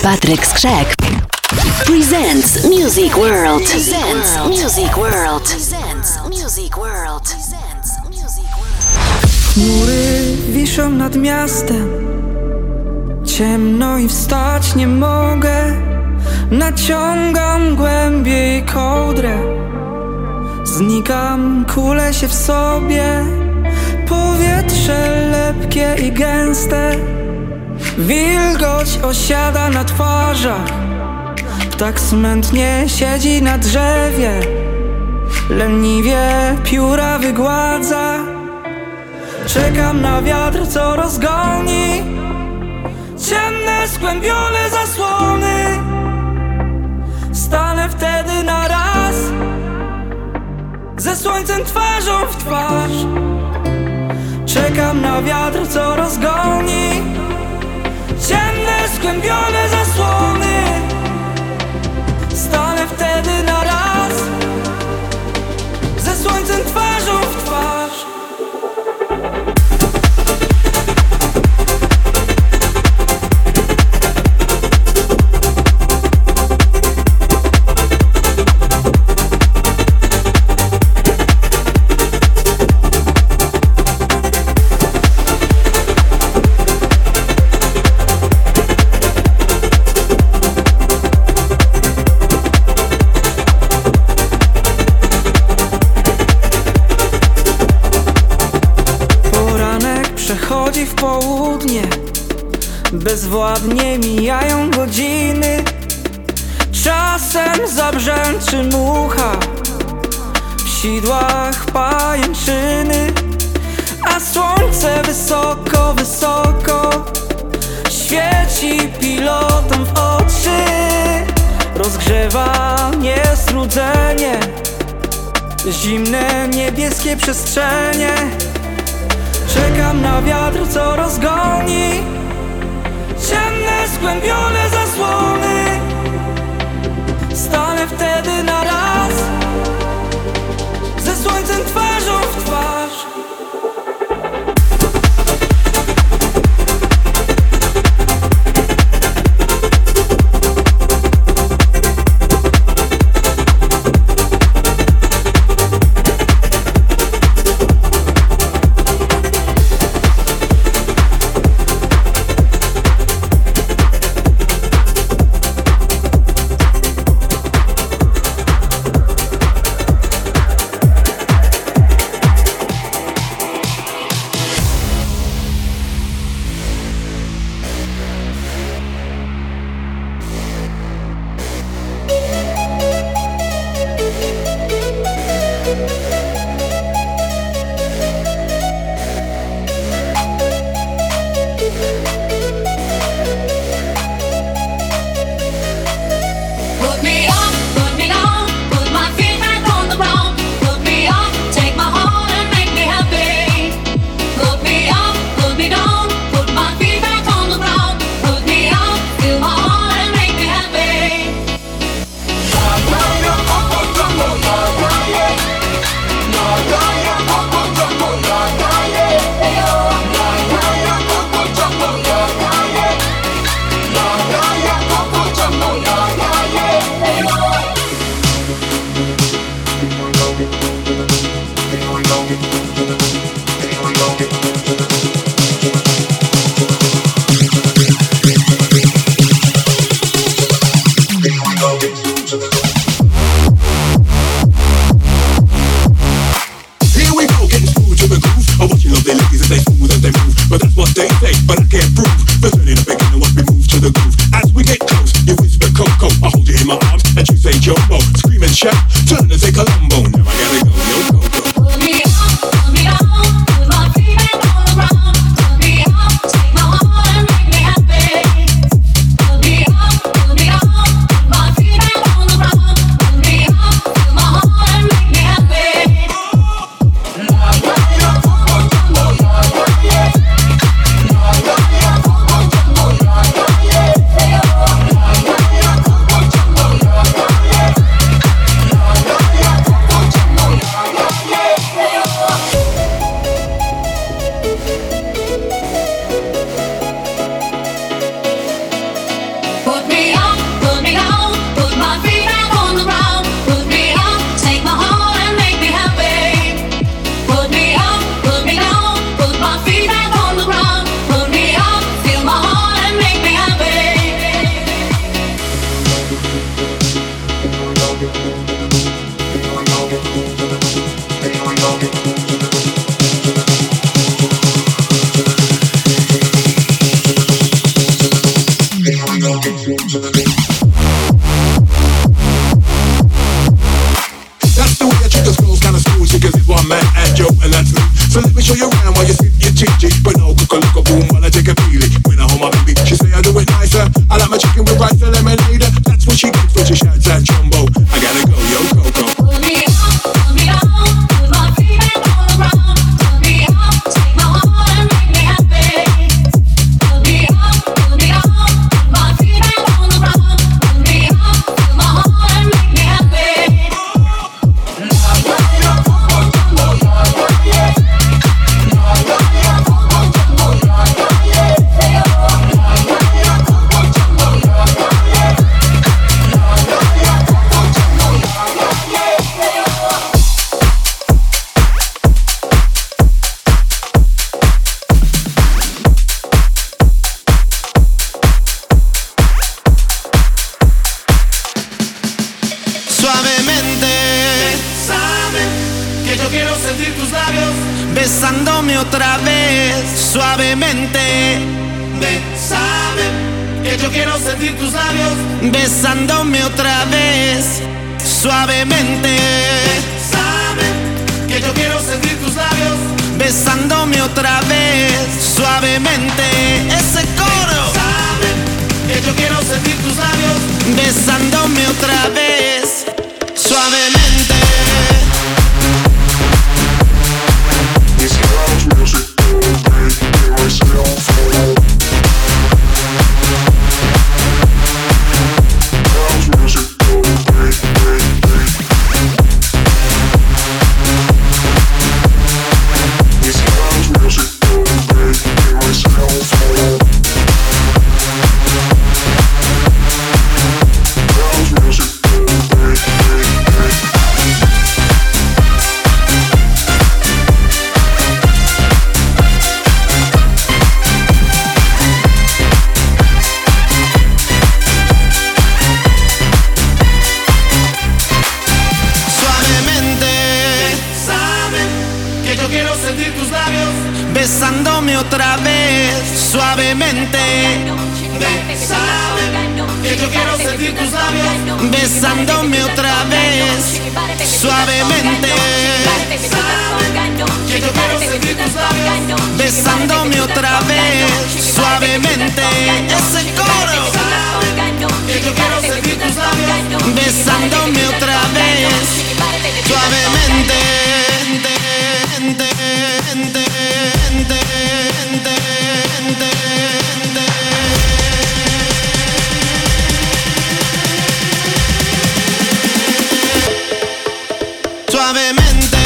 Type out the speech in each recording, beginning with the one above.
Patryk Skrzek presents Music World. Presents Music World. Presents Music World. Presents Music World. Chmury wiszą nad miastem, ciemno i wstać nie mogę. Naciągam głębiej kołdrę, znikam, kulę się w sobie. Powietrze lepkie i gęste, wilgoć osiada na twarzach. Ptak smętnie siedzi na drzewie, leniwie pióra wygładza. Czekam na wiatr, co rozgoni ciemne, skłębione zasłony. Stanę wtedy na raz ze słońcem twarzą w twarz. Czekam na wiatr, co rozgoni ciemne, skłębione zasłony. Stanę wtedy na raz ze słońcem twarzą w twarz. Przechodzi w południe, bezwładnie mijają godziny. Czasem zabrzęczy mucha, w sidłach pajęczyny. A słońce wysoko, wysoko świeci pilotom w oczy. Rozgrzewa niestrudzenie zimne niebieskie przestrzenie. Czekam na wiatr, co rozgoni ciemne, skłębione zasłony. Stanę wtedy na raz ze słońcem twarzą w twarz. That's the way I treat those girls, kinda school chickens is one man and Joe, and that's me. So let me show you around while you sit your chichi. But no, cook a look a boom while I take a peely. When I hold my baby, she say I do it nicer. I like my chicken with rice and lemonade. That's what she gets when she shouts at Jumbo. I gotta go, yo, Coco. Put me on, put my feet back on the ground. Put me on, take my heart and make me happy. Put me on, put my feet back on the ground. Put me on, take my heart and make me happy. Besándome otra vez, suavemente. Bésame, que yo quiero sentir tus labios. Besándome otra vez, suavemente. Bésame, que yo quiero sentir tus labios. Besándome otra vez, suavemente. Ese coro. Bésame, que yo quiero sentir tus labios. Besándome otra vez, suavemente. Besándome otra vez, suavemente. Bésame, que yo quiero sentir tus labios. Besándome otra vez, suavemente. Bésame, que yo quiero sentir tus labios. Besándome otra vez, suavemente. Ese coro. Bésame, que yo quiero sentir tus labios. Besándome otra vez, suavemente. Suavemente.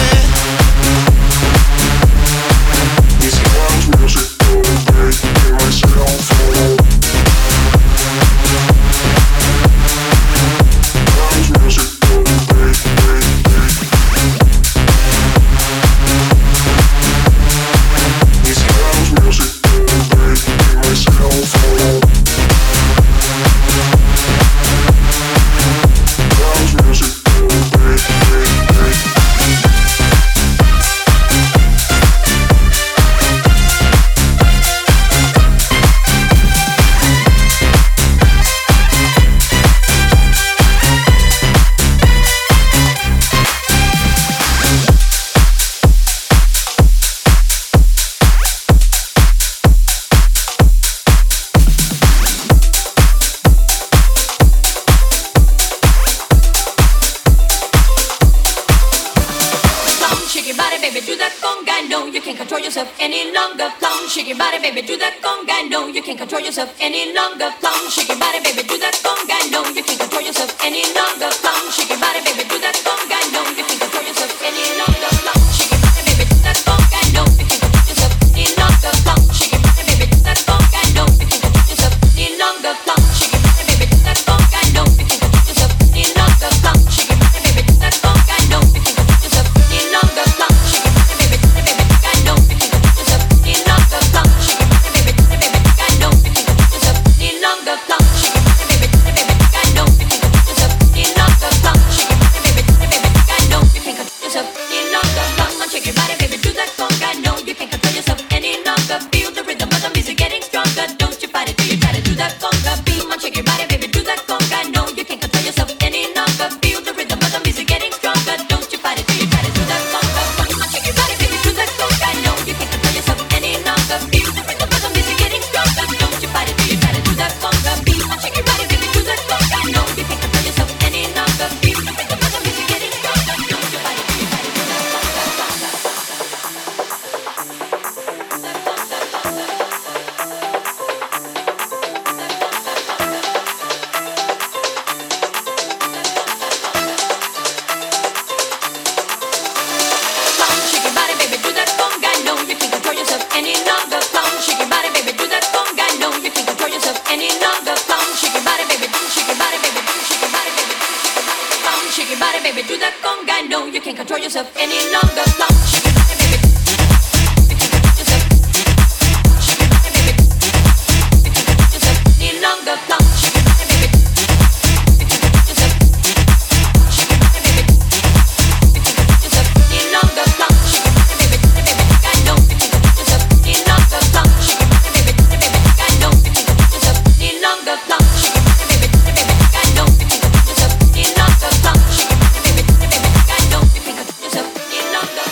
Shake your body, baby, do that conga. No, you can't control yourself any longer. Plum, shake your body, baby, do that conga. No, you can't control yourself any longer. Plum, shake your body, baby, do that conga. No, you can't control yourself any longer. Plum, shake your body, baby, do that conga. No, you can't control yourself any longer. Plum, shake your body, baby, do that conga. No, you can't control yourself any longer. Plum, shake your body, baby, do that conga. No, you can't control yourself any longer. Plum, shake your body, baby, do that conga. No, you can't control yourself any longer. Plum, shake your body, baby, do that conga. No, you can't control yourself any longer. Plum, shake your body, baby, do that conga. No, you can't control yourself any longer. Plum, shake your body. can't control yourself any longer. Come, shake your body, baby. You can't control yourself. Shake your body, baby. You can't control yourself any longer. Come, shake your body, baby. You can't control yourself. Shake your body, baby. You can't control yourself any longer. Come, shake your body, baby, baby. I know you can't control yourself any longer. Come, shake your body, baby, baby. I know you can't control yourself any longer. Come, shake your body, baby, baby. I know you can't control yourself any longer. Come, shake your body, baby, baby. I know you can't control yourself any longer.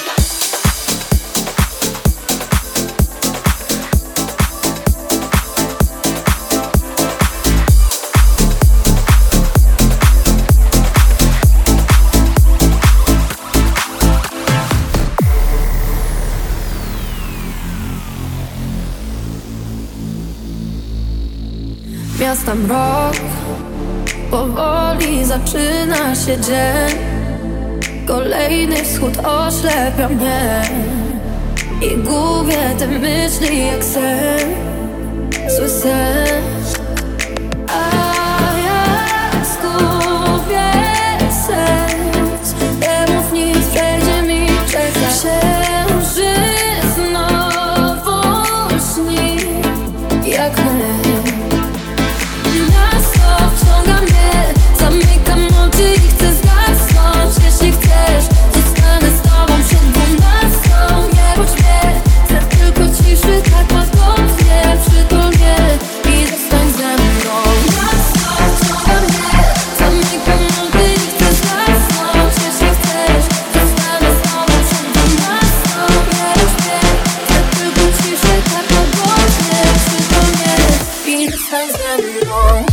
Miasta mrok, powoli zaczyna się dzień. Kolejny wschód oślepia mnie i gubię te myśli jak sen, zły sen. A ja zgubię serc, nie mów nic, przejdzie mi czeka. Księżyc znowu śni jak my. Wciąga mnie, zamykam oczy i chcę zasnąć. Jeśli chcesz, zostanę z tobą przed 12. Nie bądź mnie, chcę tylko ciszy, tak łagodnie. Przytul mnie i zostań ze mną. Wciąga mnie, zamykam oczy i chcę zasnąć. Jeśli chcesz, zostanę z tobą przed 12. Nie bądź mnie, chcę tylko ciszy, tak łagodnie. Przytul mnie i zostań ze mną.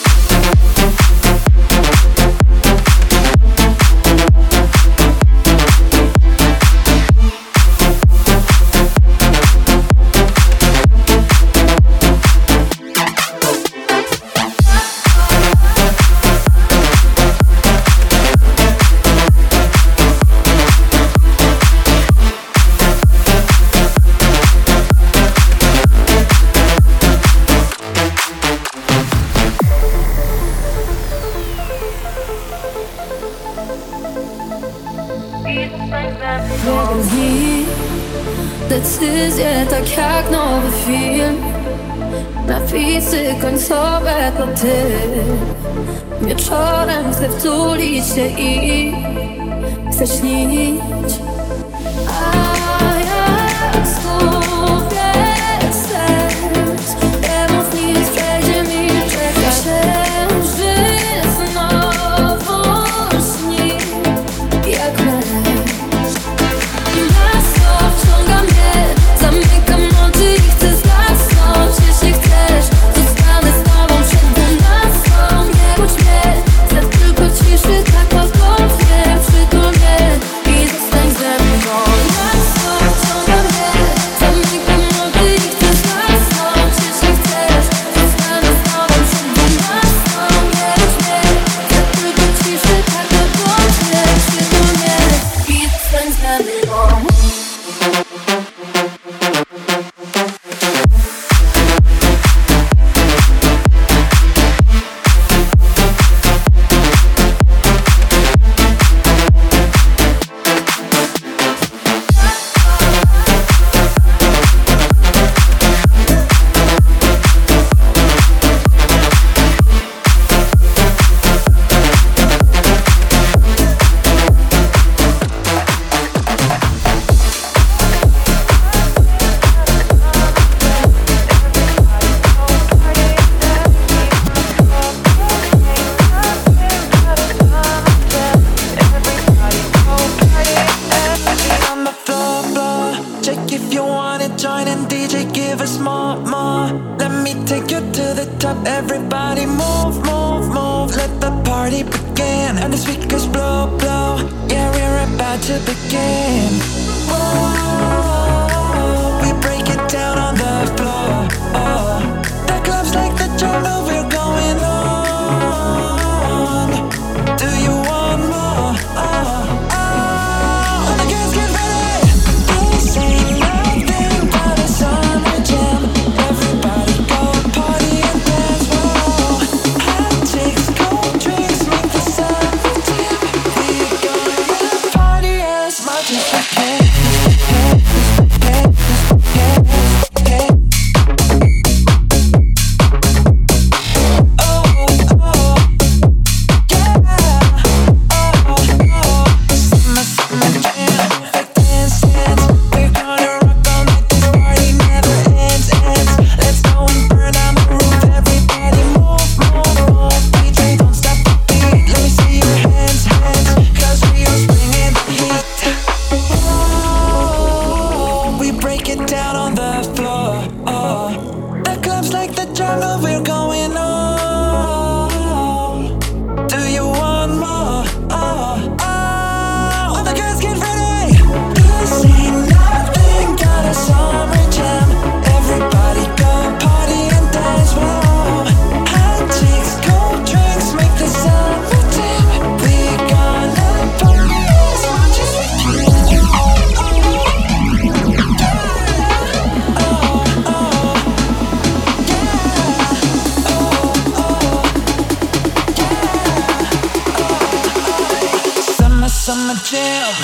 Jeden z nich, decyzje tak jak nowy film. Napisy końcowe to ty. Wieczorem chcę wtulić się i chcę śnić. A ja zgubię serc, nie mów nic, przejdzie mi czeka. Księżyc znowu śni jak my. Wciąga mnie, zamykam oczy i chcę zasnąć. Jeśli chcesz, zostanę z tobą przed 12. Nie bądź mnie, chcę tylko ciszy, tak łagodnie. Przytul mnie i zostań ze mną. Wciąga mnie, zamykam oczy i chcę zasnąć. Jeśli chcesz, zostanę z tobą przed 12. Nie bądź mnie, chcę tylko ciszy, tak łagodnie. Przytul mnie i zostań ze mną. Everybody move, move, move. Let the party begin. And the speakers blow, blow. Yeah, we're about to begin. Whoa, we break it down on the floor. Oh, the club's like the jungle, we're going on. Do you want more? Oh, oh, all the girls get ready. This ain't nothing but a summer jam. Everybody go party and dance. Whoa, hot chicks, cold drinks, make the sun dim. We're gonna party summer jam.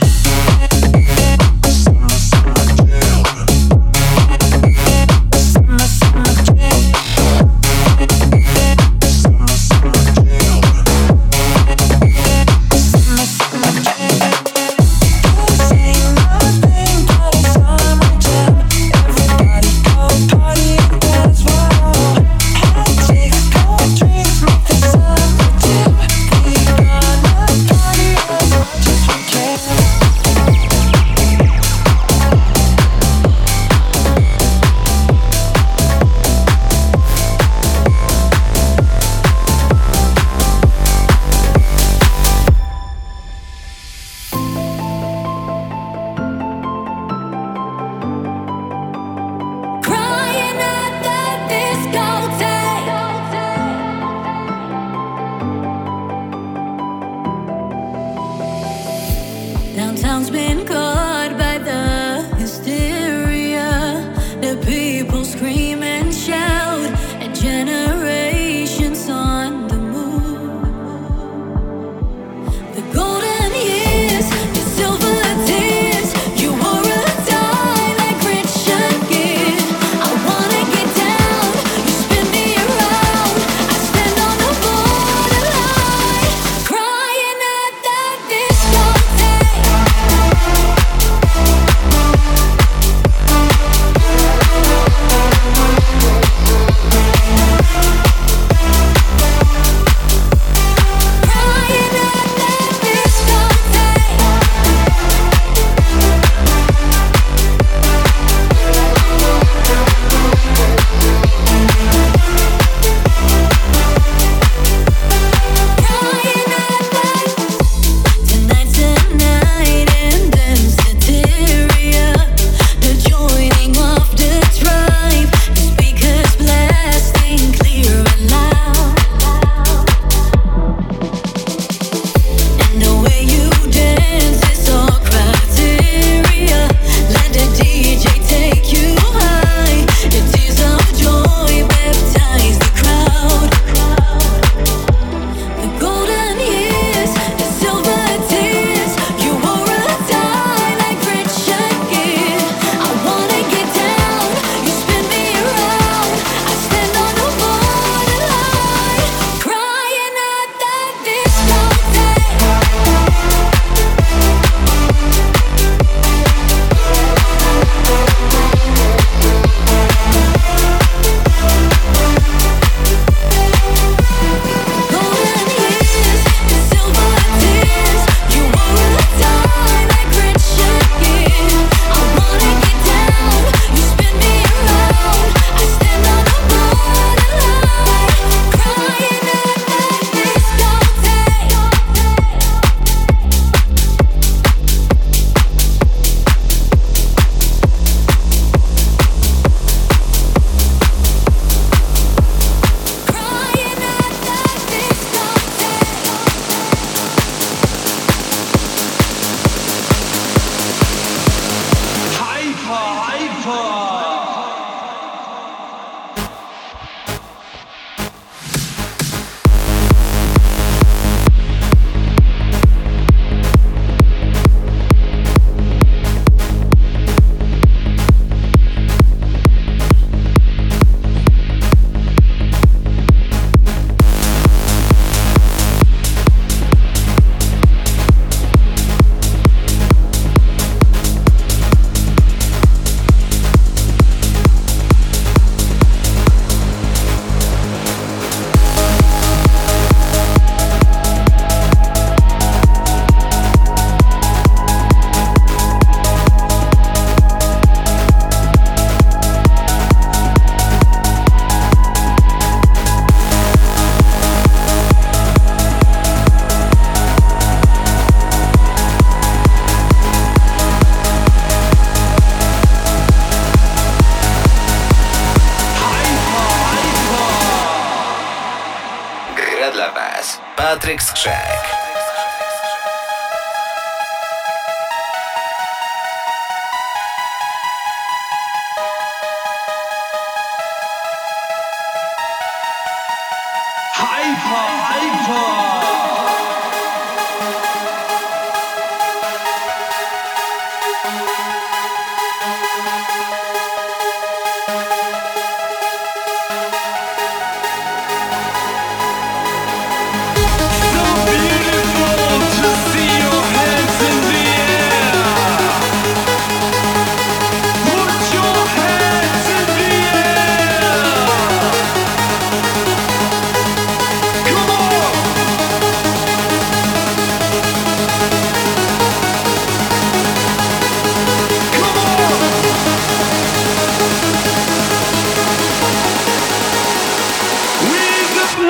Patryk Skrzek.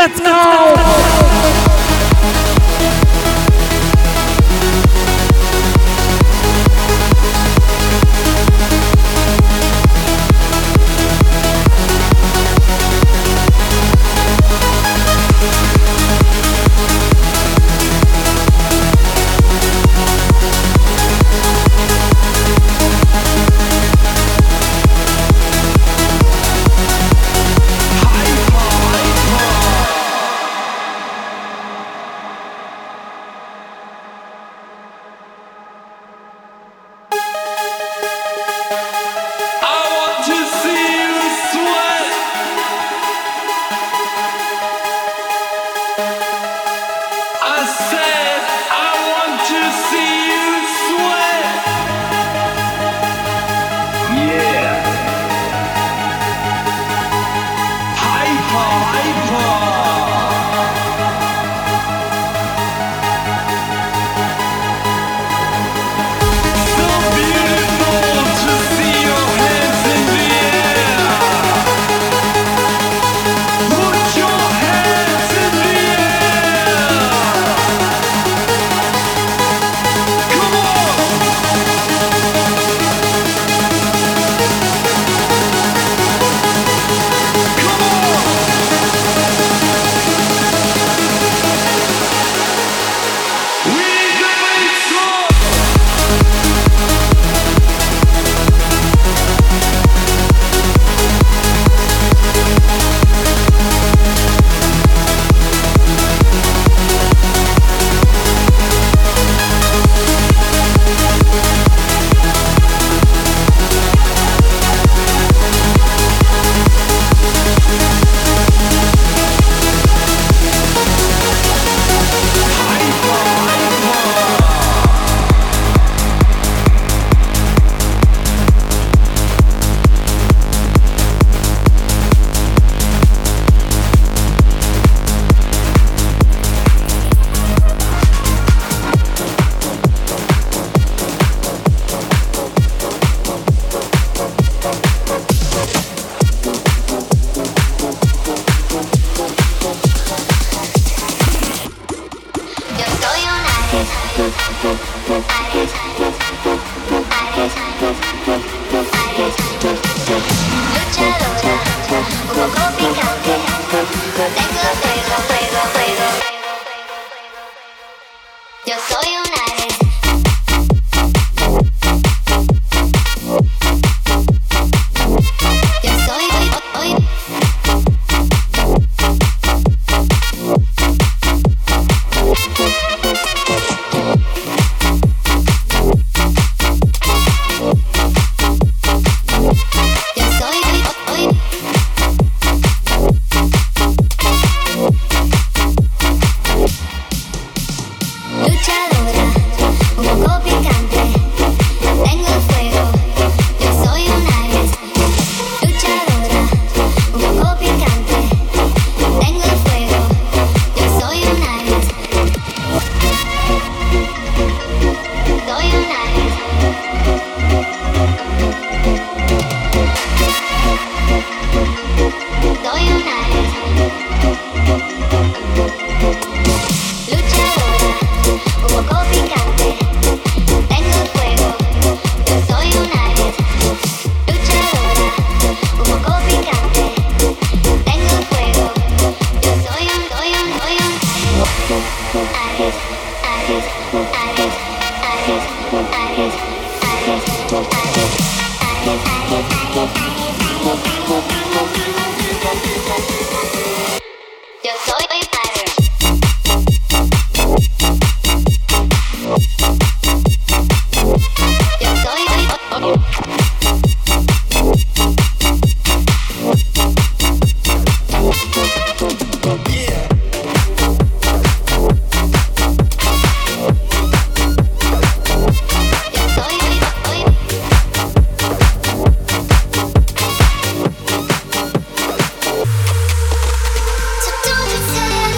let's go! So don't you say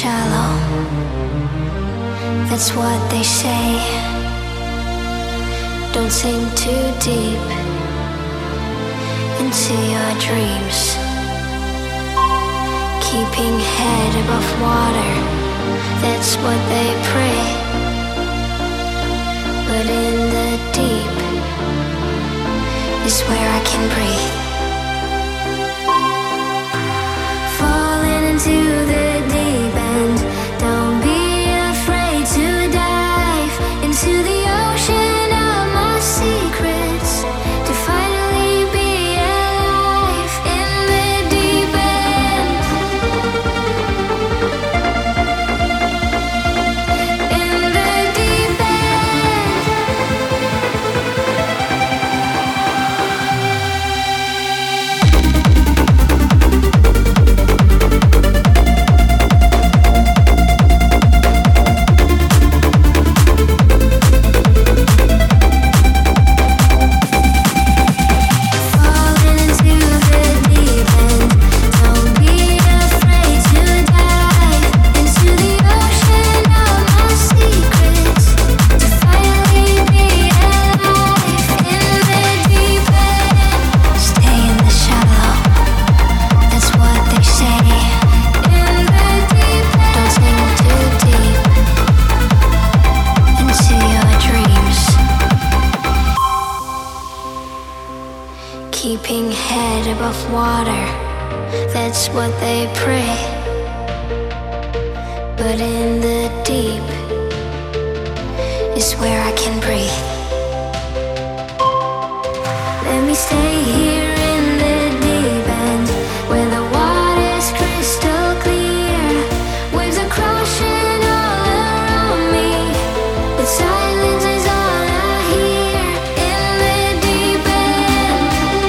shallow. That's what they say. Don't sink too deep into your dreams. Keeping head above water, that's what they pray. But in the deep is where I can breathe. Falling into the deep end. Don't be afraid to dive into the ocean of my secrets, to finally be alive in the deep end. In the deep end. Falling into the deep end. Don't be afraid to dive into the ocean of my secrets, to finally be alive in the deep end. Stay in the shallow. That's what they say. In the deep end. Don't sink too deep into your dreams. Keeping head above water, that's what they pray. But in the deep is where I can breathe. Let me stay here in the deep end, where the water's crystal clear. Waves are crashing all around me, but silence is all I hear. In the deep end.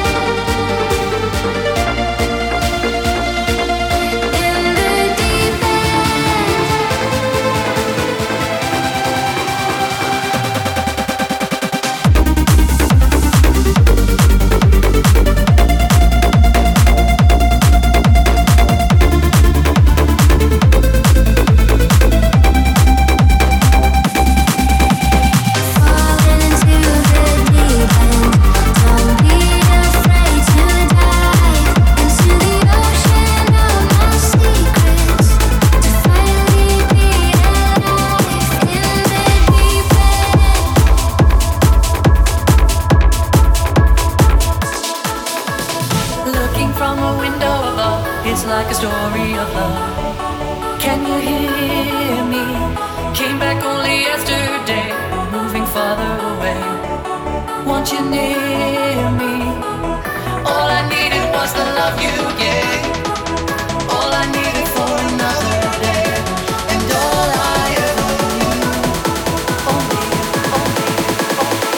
In the deep end. Falling into the deep end. Don't be afraid to dive into the ocean of my secrets, to finally be alive in the deep end. Looking from a window above, it's like a story of love. Can you hear me? Came back only yesterday, moving farther away. Want you near me? All I needed was the love you gave. All I needed for another day, and all I ever knew. Only you, only you, only you.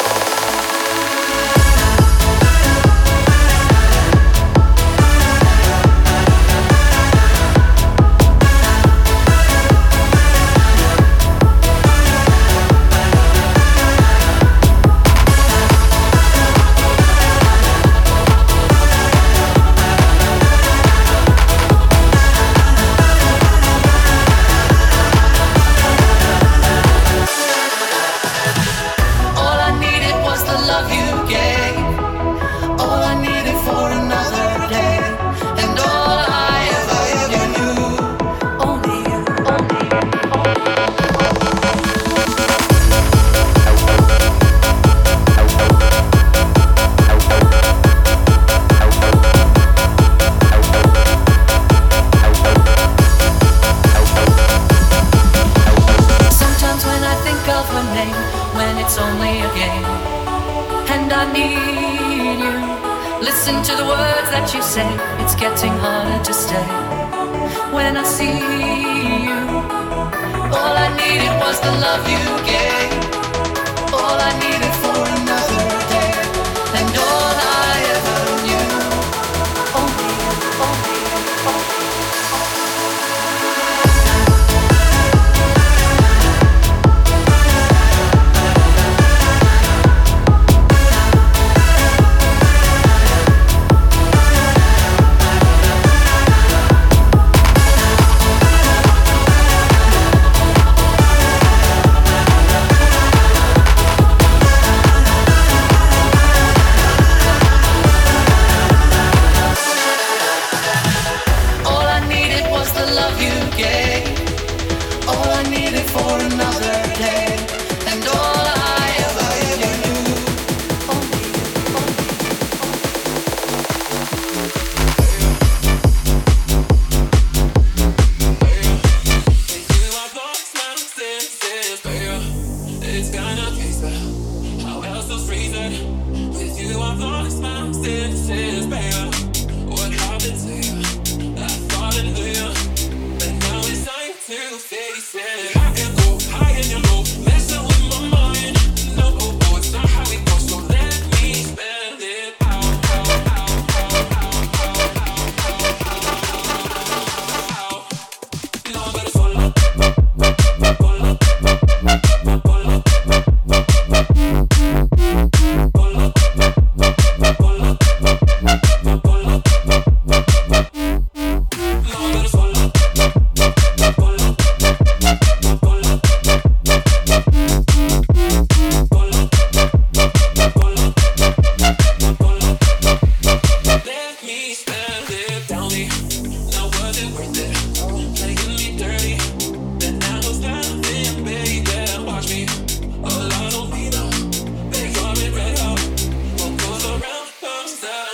All I needed was the love you gave. All I needed for another day, and all I ever knew. Only you, only you, Sometimes when I think of her name, when it's only a game, and I need you. Listen to the words that you say, it's getting harder to stay. When I see you, all I needed was the love you gave. All I needed for another day, and all I ever knew. Only you, only you, only you.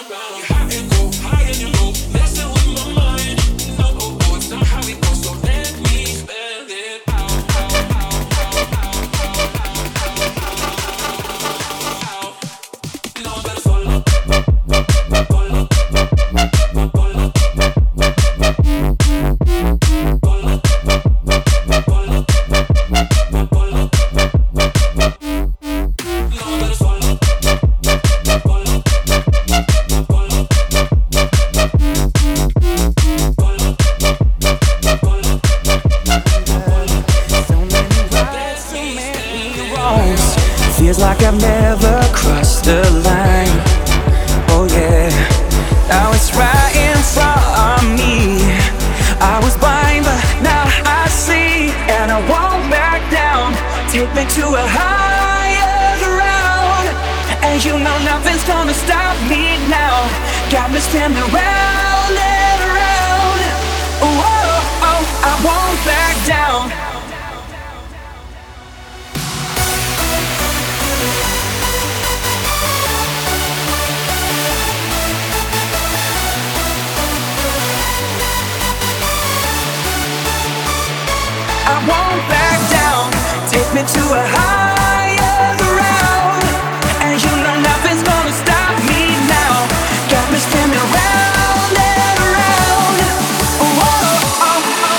Feels like I've never crossed the line. Oh yeah, now it's right in front of me. I was blind but now I see, and I won't back down. Take me to a higher ground, and you know nothing's gonna stop me now. Got me spinning round and round. Oh, oh, oh, I won't back down. I won't back down. Take me to a higher ground, and you know nothing's gonna stop me now. Got me spinning round and round. Oh, oh, oh, oh.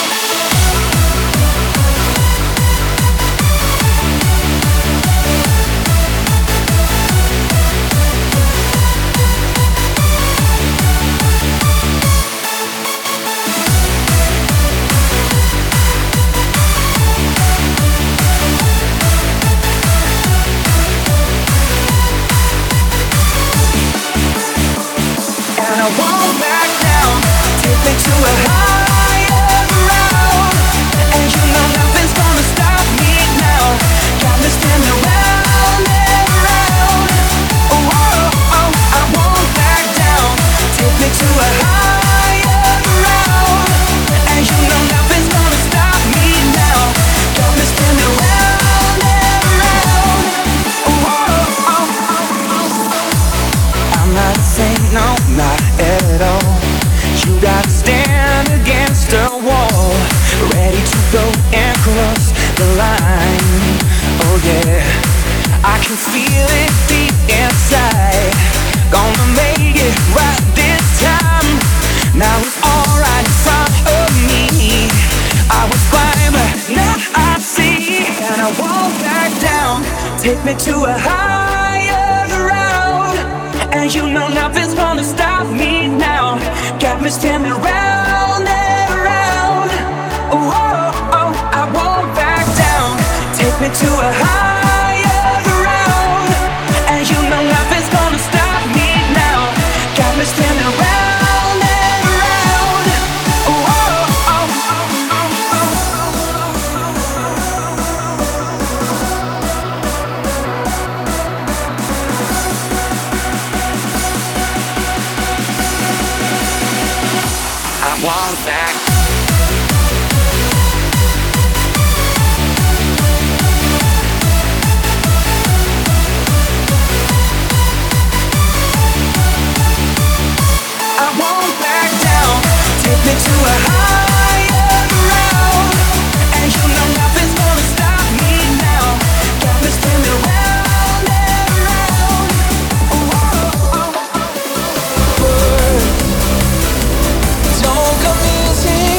I won't back down. Take me to a higher ground, and you know nothing's gonna stop me now. Got me spinning round and round. Oh, oh, oh, I won't back down. Take me to a higher ground, and you know nothing's gonna stop me now. Got me spinning round and round. Oh, oh, oh, oh, oh. I'm not saying no, not at all. You gotta stand against the wall, ready to go and cross the line. Oh yeah, I can feel it deep inside. Gonna make it right this time. Now it's all right in front of me. I was blind but now I see, and I won't back down. Take me to a higher ground, and you know nothing's gonna stop me now. Got me spinning round and round. Oh, oh, oh, I won't back down. Take me to a higher ground, and you know nothing's gonna stop me now. Got me spinning round and round. Oh, oh, oh, oh, oh, oh. I won't back. I won't back down. Take me to a higher ground, and you know nothing's gonna stop me now. Got me spinning round and round. Oh, oh, oh, oh. Don't come easy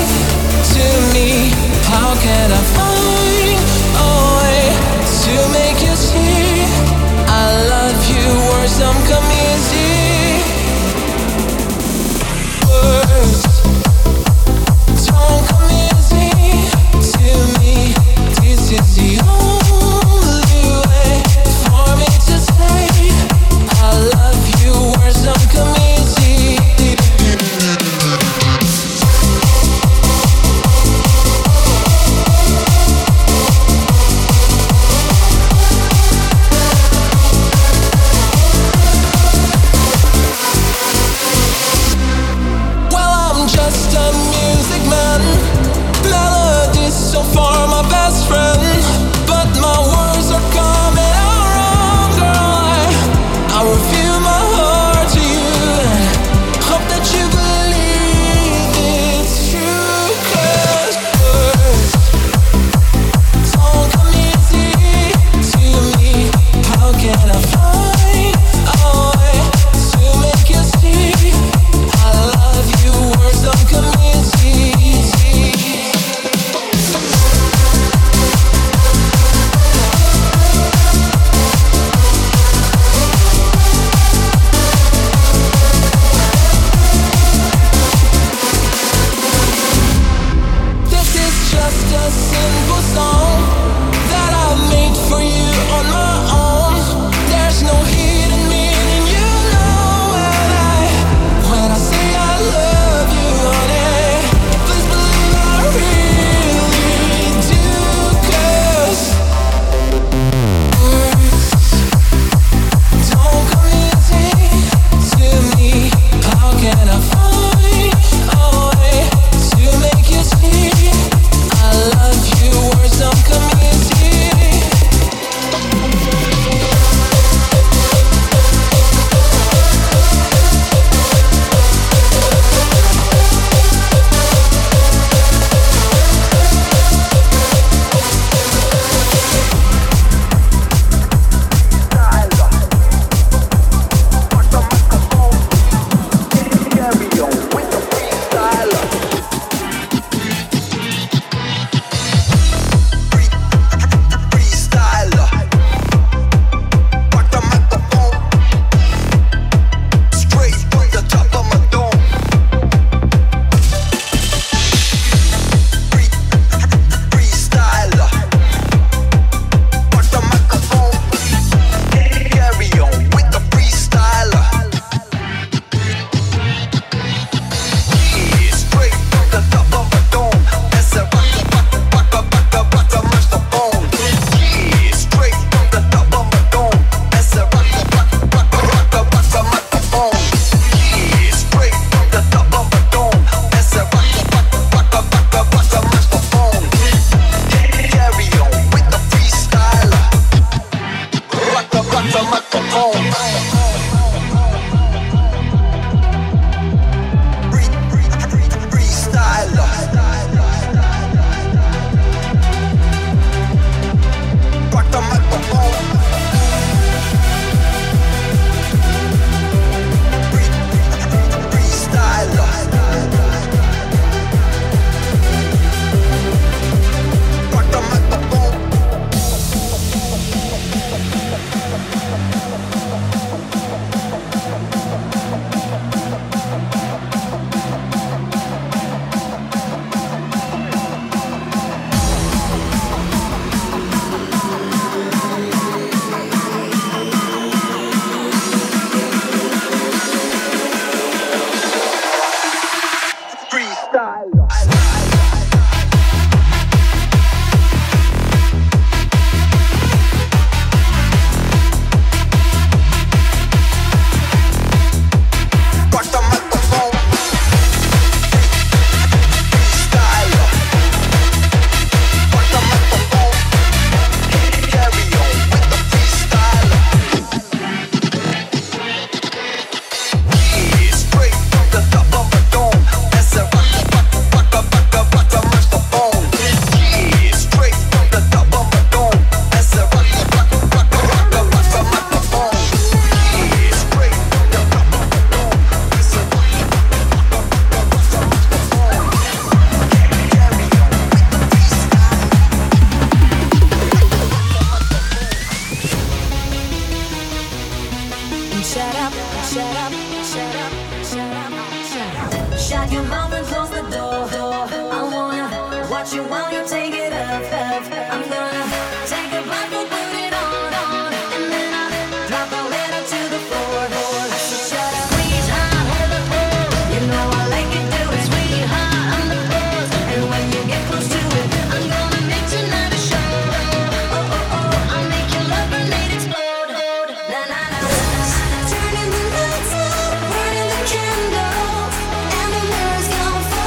shut your mouth and close the door. I wanna watch you while you take it up. I'm gonna take a bite, we'll put it on, and then I drop a letter to the floor. So shut up, squeeze hard, hold the phone. You know I like it, do it, sweetheart. I'm the boss, and when you get close to it, I'm gonna make tonight a show. I'll make your love grenade explode. Na na na. Turning the lights out, burning the candle, and the mirror's gonna fall.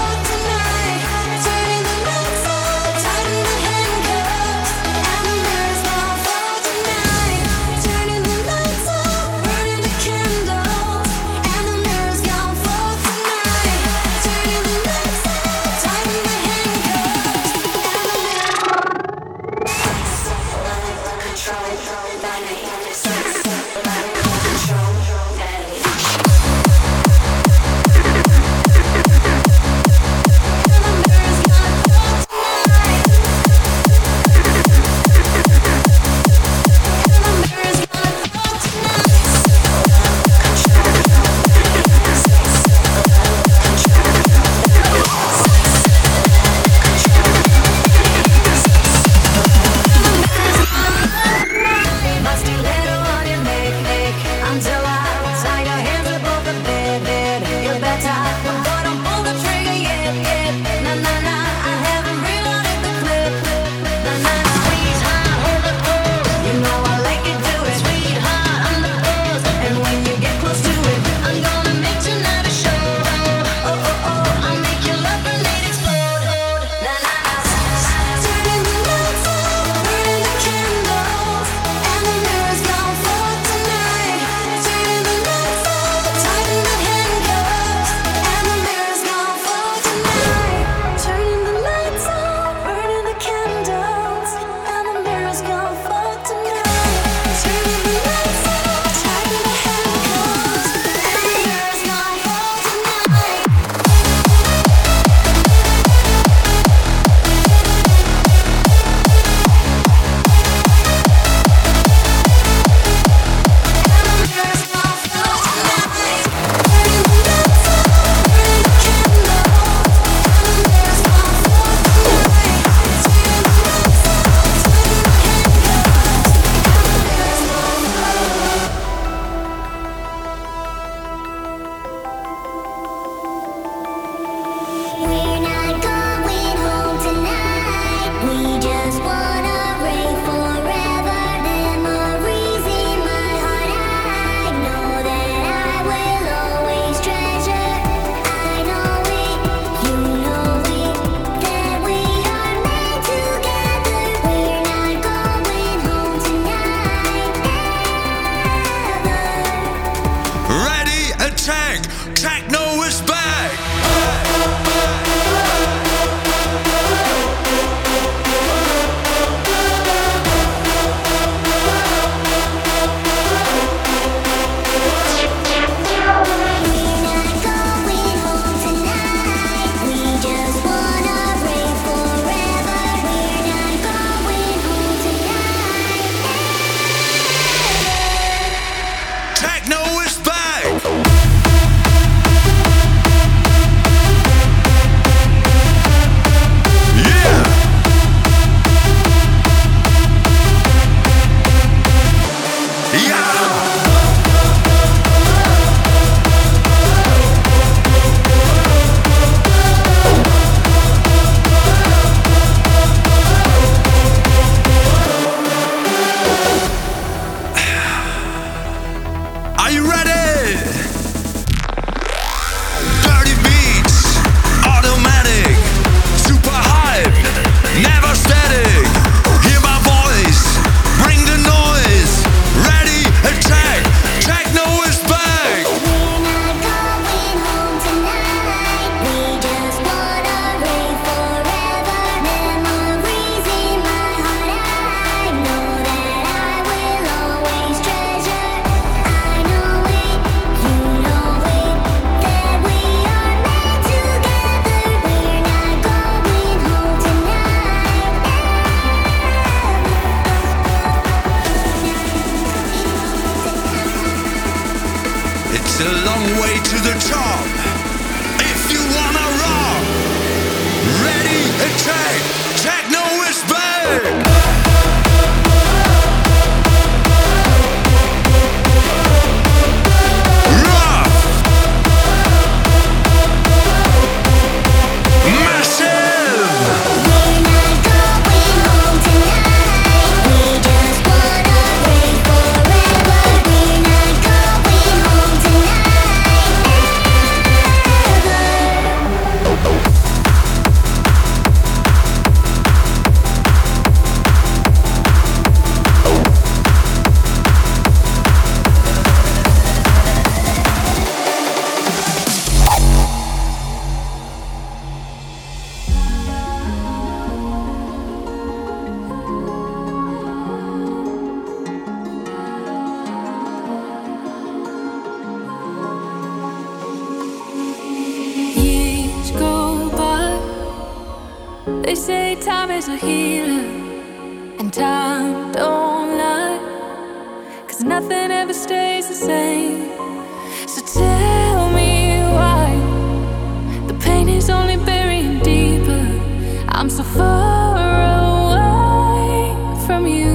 say time is a healer, and time don't lie, 'cause nothing ever stays the same. So tell me why the pain is only burying deeper. I'm so far away from you.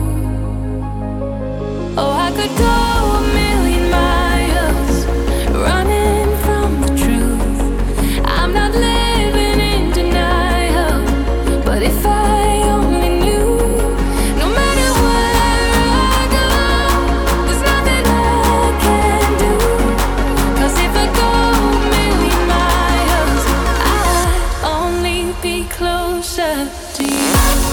Oh, I could go a million miles running from the truth. I'm not living in denial, but if I only knew, no matter where I go, there's nothing I can do. 'Cause if I go a million miles, I'd only be closer to you.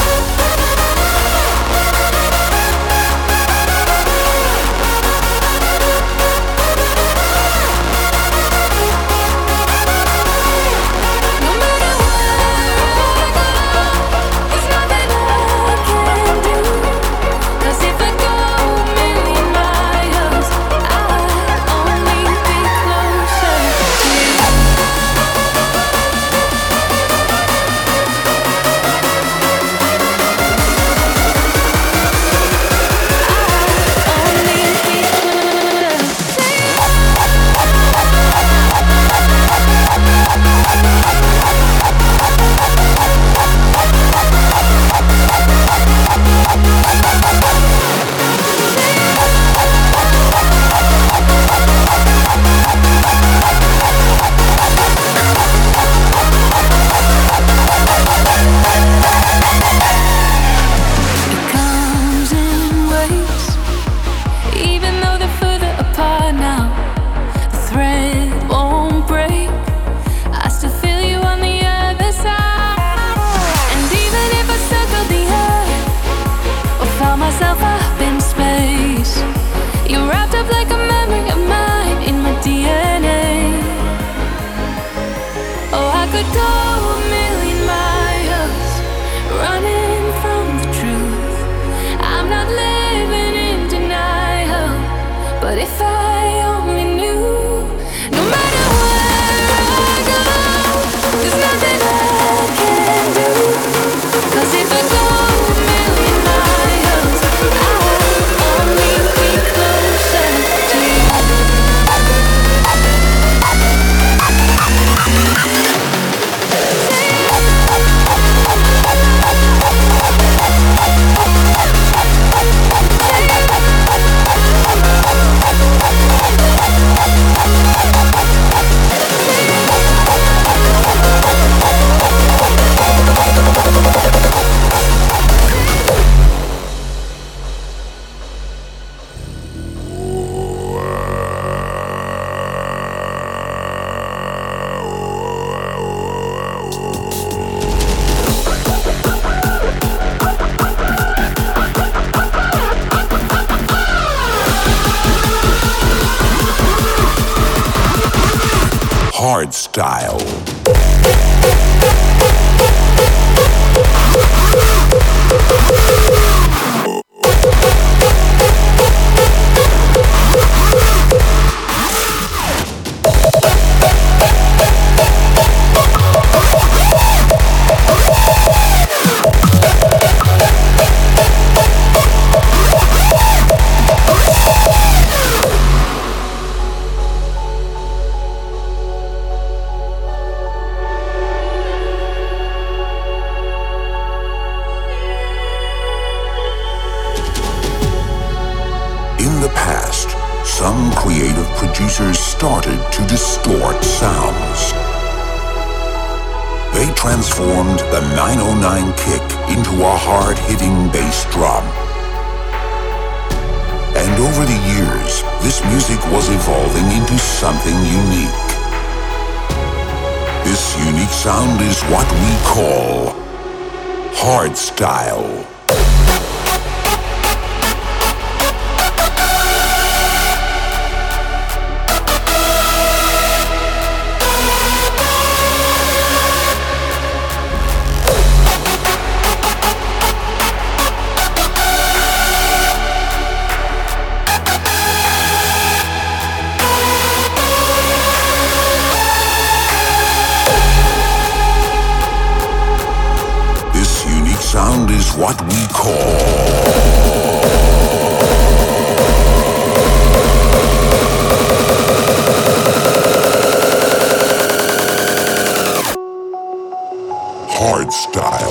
Hardstyle. Some creative producers started to distort sounds. They transformed the 909 kick into a hard-hitting bass drum. And over the years, this music was evolving into something unique. This unique sound is what we call hardstyle. what we call hard style.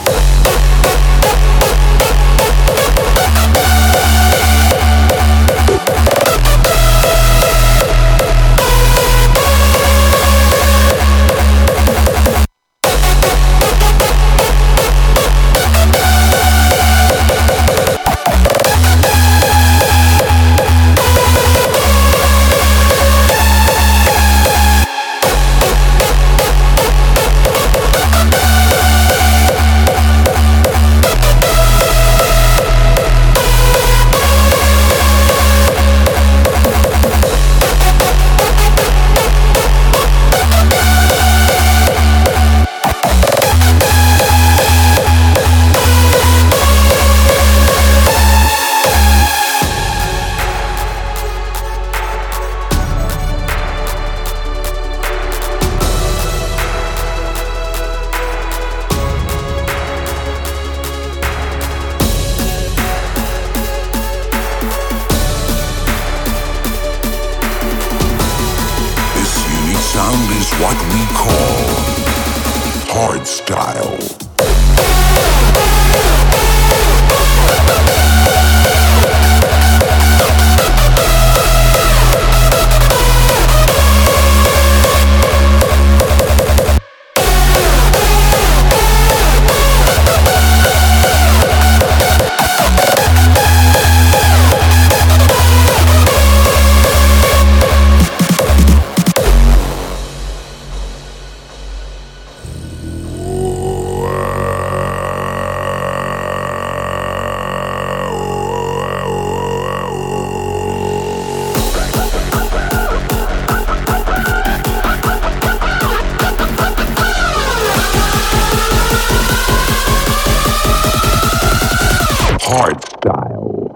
Sound is what we call hard style. Hard style.